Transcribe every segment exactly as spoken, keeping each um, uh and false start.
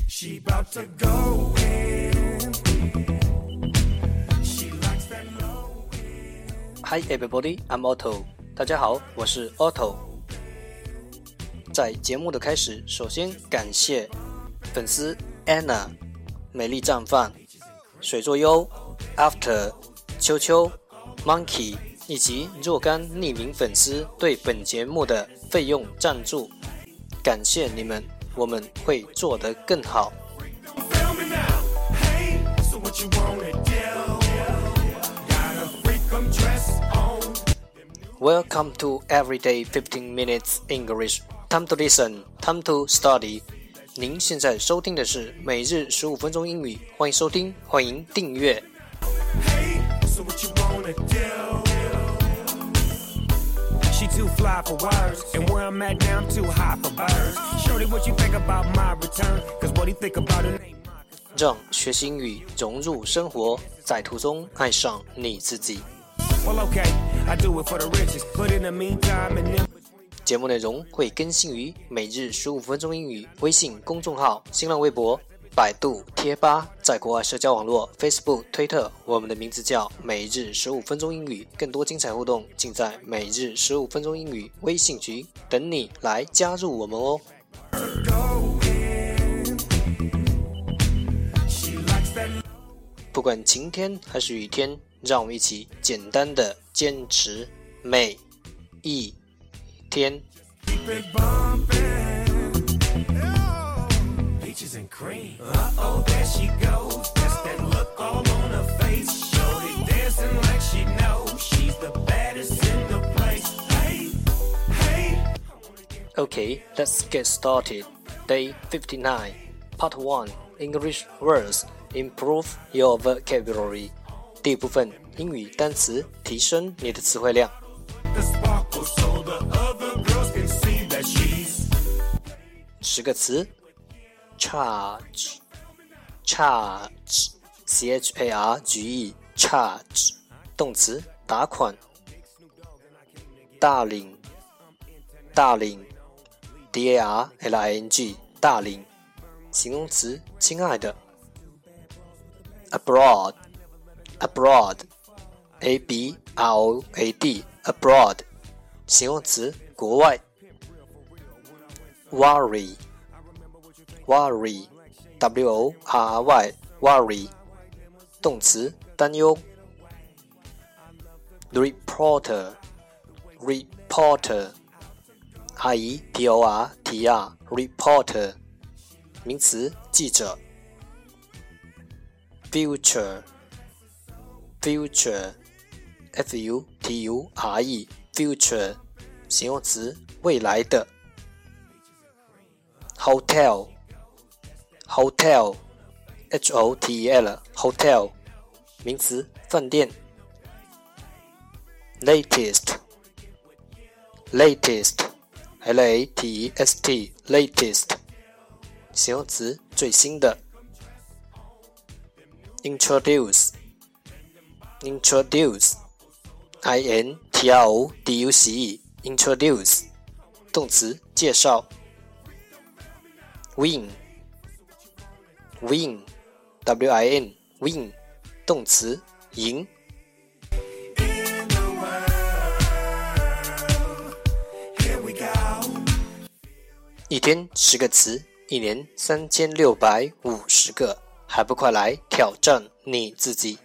She about to go in. She likes that low end. Hi everybody, I'm Otto. 大家好，我是 Otto。在节目的开始，首先感谢粉丝 Anna、美丽绽放、水作优、After、秋秋、Monkey 以及若干匿名粉丝对本节目的费用赞助，感谢你们，我们会做得更好。Welcome to Everyday fifteen minutes English. Time to listen, time to study. 您现在收听的是每日十五分钟英语，欢迎收听，欢迎订阅。 She too fly for words, and where I'm at now I'm too high for birds. Shorty, what you think about my return? Cause what he think about it ain't mine. 让学习英语融入生活，在途中爱上你自己。 Well, okay, I do it for the riches, but in the meantime and in between. 节目内容会更新于每日十五分钟英语微信公众号、新浪微博、百度贴吧，在国外社交网络 Facebook、推特，我们的名字叫每日十五分钟英语。更多精彩互动尽在每日十五分钟英语微信群，等你来加入我们哦。不管晴天还是雨天，让我们一起简单的坚持每一天。 And cream. Uh-oh, there she goes. That's that look all on her face. Shorty dancing like she knows she's the baddest in the place. Hey, hey. Okay, let's get started. Day fifty-nine, Part one, English words. Improve your vocabulary. 第一部分，英语单词，提升你的词汇量。 The sparkle so the other girls can see that she's 十个词。Charge, charge, C H A R G E, charge, 动词，打款。大领，大领 D A R L I N G, 大领，形容词，亲爱的。Abroad, abroad, A B R O A D, abroad, 形容词，国外。Worry Worry, W O R R Y, worry, 动词，担忧。Reporter, reporter, R E P O R T E R, reporter, 名词，记者。Future, future, F U T U R E, future, 形容词，未来的。Hotel Hotel, H O T E L, hotel, 名词，饭店。Latest, latest, L A T E S T, latest, 形容词，最新的。Introduce, introduce, I N T R O D U C E, introduce, 动词，介绍。Win Win, W I N, win, 动词，赢。一天十个词，一年三千六百五十个，还不快来挑战你自己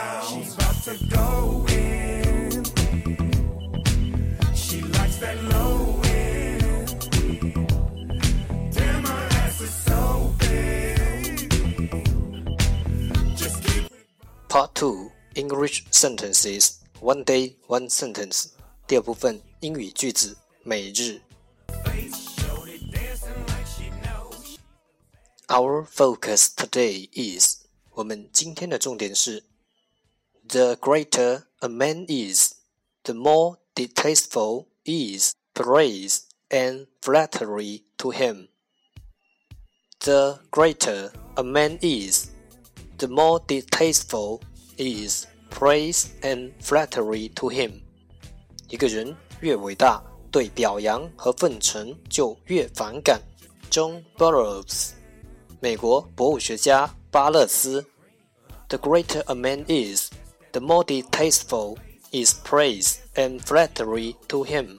！Part two, English sentences, one day, one sentence. 第二部分，英语句子，每日。Our focus today is, 我们今天的重点是 The greater a man is, the more distasteful is praise and flattery to him. The greater a man is, the more distasteful is praise and flattery to him. 一个人越伟大，对表扬和奉承就越反感。John Burroughs 美国博物学家巴勒斯 The greater a man is, the more distasteful is praise and flattery to him.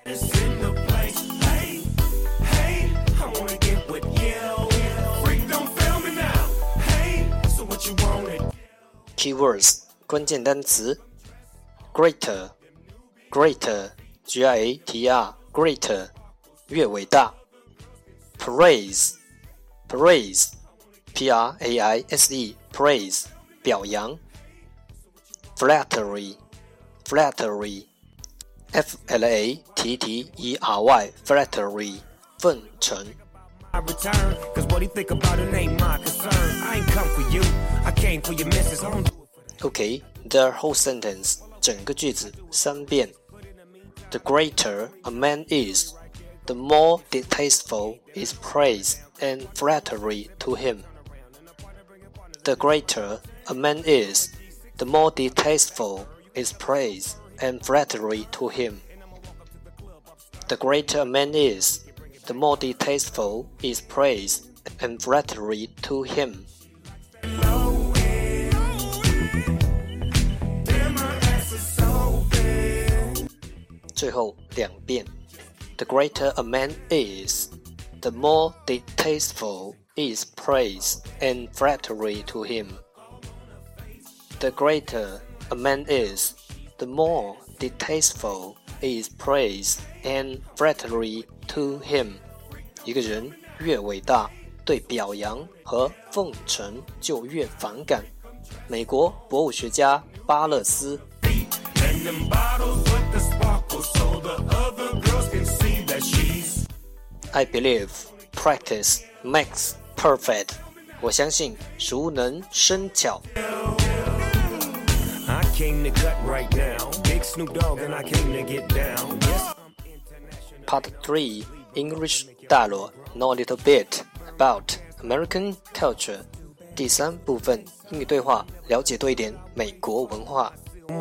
Keywords 关键单词 Greater Greater G R A T E R Greater 越伟大 Praise Praise P R A I S E Praise 表扬 Flattery Flattery F L A T T E R Y Flattery 奉承 I return, cause what he think about it ain't my concern. I ain't come for you, I came for your missus. Okay, the whole sentence 整个句子三遍 The greater a man is, the more distasteful is praise and flattery to him. The greater a man is, the more distasteful is praise and flattery to him. The greater a man is, the more distasteful is praise and flattery to him. 最后两遍 The greater a man is, the more distasteful is praise and flattery to him. The greater a man is, the more distasteful is praise and flattery to him. 一个人越伟大，对表扬和奉承就越反感。美国博物学家巴勒斯。I believe practice makes perfect. 我相信熟能生巧。 I came to cut right now. Big Snoop Dogg and I came to get down. Part three, English dialogue. Know a little bit about American culture. 第三部分，英语对话，了解多一点美国文化。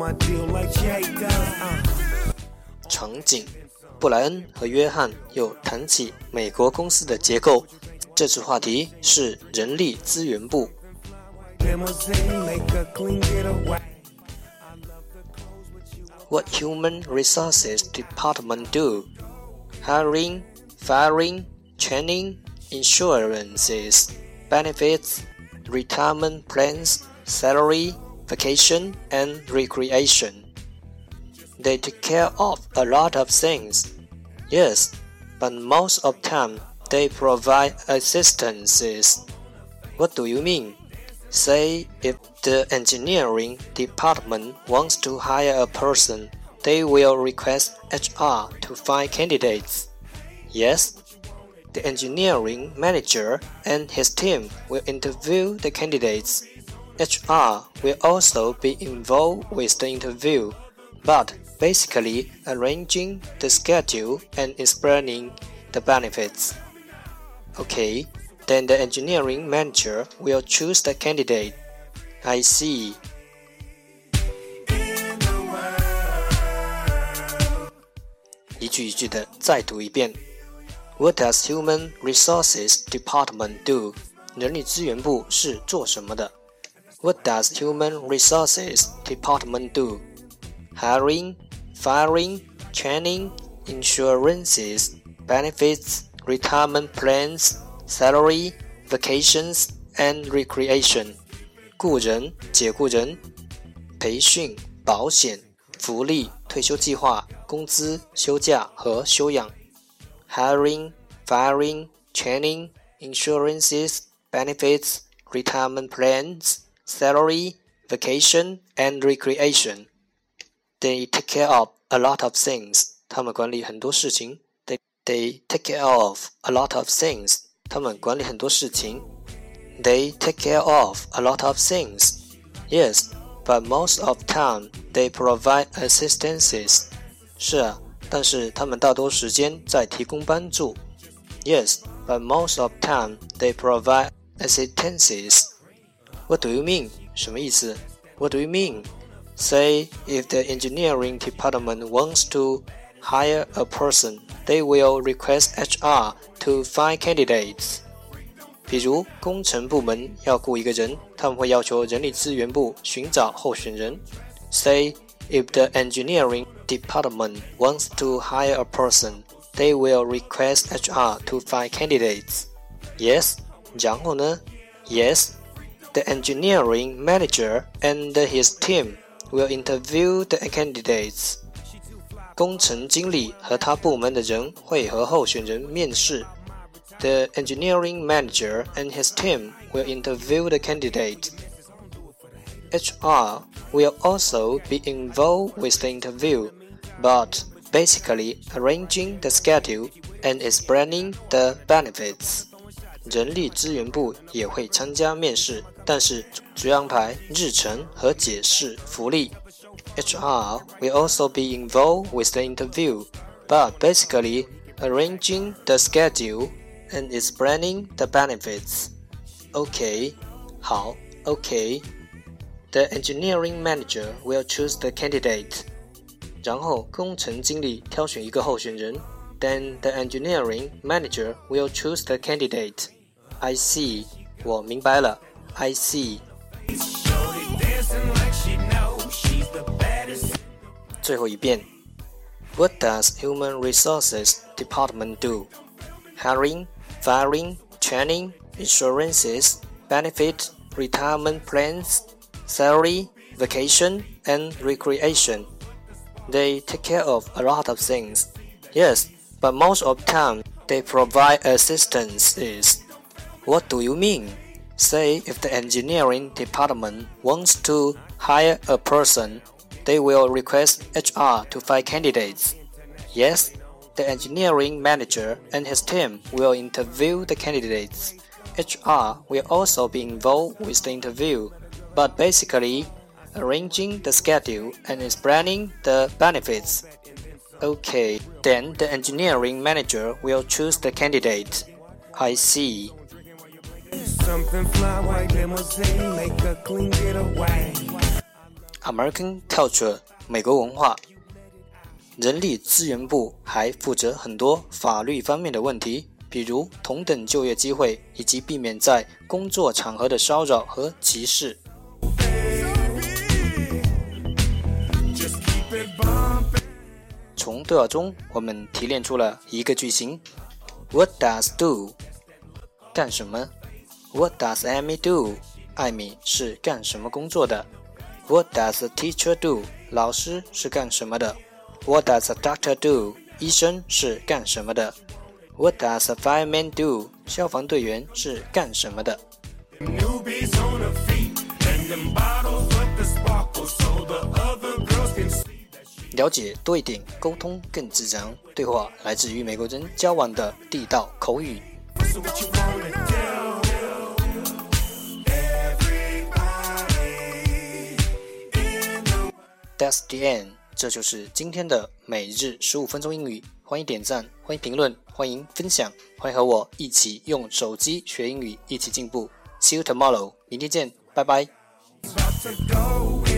场景：布莱恩和约翰又谈起美国公司的结构。这次话题是人力资源部。What human resources department do? Hiring, firing, training, insurances, benefits, retirement plans, salary, vacation, and recreation. They take care of a lot of things. Yes, but most of the time they provide assistances. What do you mean? Say if the engineering department wants to hire a person, they will request H R to find candidates. Yes, the engineering manager and his team will interview the candidates. H R will also be involved with the interview, but basically arranging the schedule and explaining the benefits. Okay, then the engineering manager will choose the candidate. I see. 一句一句的再读一遍。What does Human Resources Department do? 人力资源部是做什么的？ What does Human Resources Department do? Hiring, firing, training, insurances, benefits, retirement plans, salary, vacations, and recreation. 雇人、解雇人、培训、保险、福利、退休计划、工资、休假和休养。Hiring, firing, training, insurances, benefits, retirement plans, salary, vacation, and recreation. They take care of a lot of things. 他们管理很多事情。They, they take care of a lot of things. 他们管理很多事情。They take care of a lot of things. Yes, but most of the time they provide assistances. 是啊，但是他们大多时间在提供帮助。Yes, but most of the time they provide assistances. What do you mean? 什么意思？ What do you mean? Say if the engineering department wants to hire a person, they will request H R to find candidates. 比如工程部门要雇一个人，他们会要求人力资源部寻找候选人。Say, if the engineering department wants to hire a person, they will request H R to find candidates. Yes, 然后呢 Yes, the engineering manager and his team will interview the candidates. 工程经理和他部门的人会和候选人面试。The engineering manager and his team will interview the candidate. H R will also be involved with the interview, but basically arranging the schedule and explaining the benefits. 人力资源部也会参加面试，但是主要安排日程和解释福利。H R will also be involved with the interview, but basically arranging the schedule and explaining the benefits. OK, 好 OK. The engineering manager will choose the candidate. 然后工程经理挑选一个候选人。Then the engineering manager will choose the candidate. I see. 我明白了。I see. 最后一遍。What does Human Resources Department do? Hiring, firing, training, insurances, benefit, retirement plans, salary, vacation, and recreation. They take care of a lot of things. Yes, but most of the time they provide assistance. What do you mean? Say if the engineering department wants to hire a person, they will request H R to find candidates. Yes, the engineering manager and his team will interview the candidates. H R will also be involved with the interview, but basically arranging the schedule and explaining the benefits. Okay, then the engineering manager will choose the candidate. I see. Something fly white limousine, make a clean getaway. American culture, 美国文化。人力资源部还负责很多法律方面的问题，比如同等就业机会以及避免在工作场合的骚扰和歧视。从对话中，我们提炼出了一个句型 ：What does do？ 干什么 ？What does Amy do？ 艾米是干什么工作的 ？What does a teacher do？ 老师是干什么的 ？What does a doctor do？ 医生是干什么的 ？What does a fireman do？ 消防队员是干什么的？了解多一点，沟通更自然。对话来自于美国人交往的地道口语。That's the end. 这就是今天的每日十五分钟英语。欢迎点赞，欢迎评论，欢迎分享，欢迎和我一起用手机学英语，一起进步。See you tomorrow. 明天见，拜拜。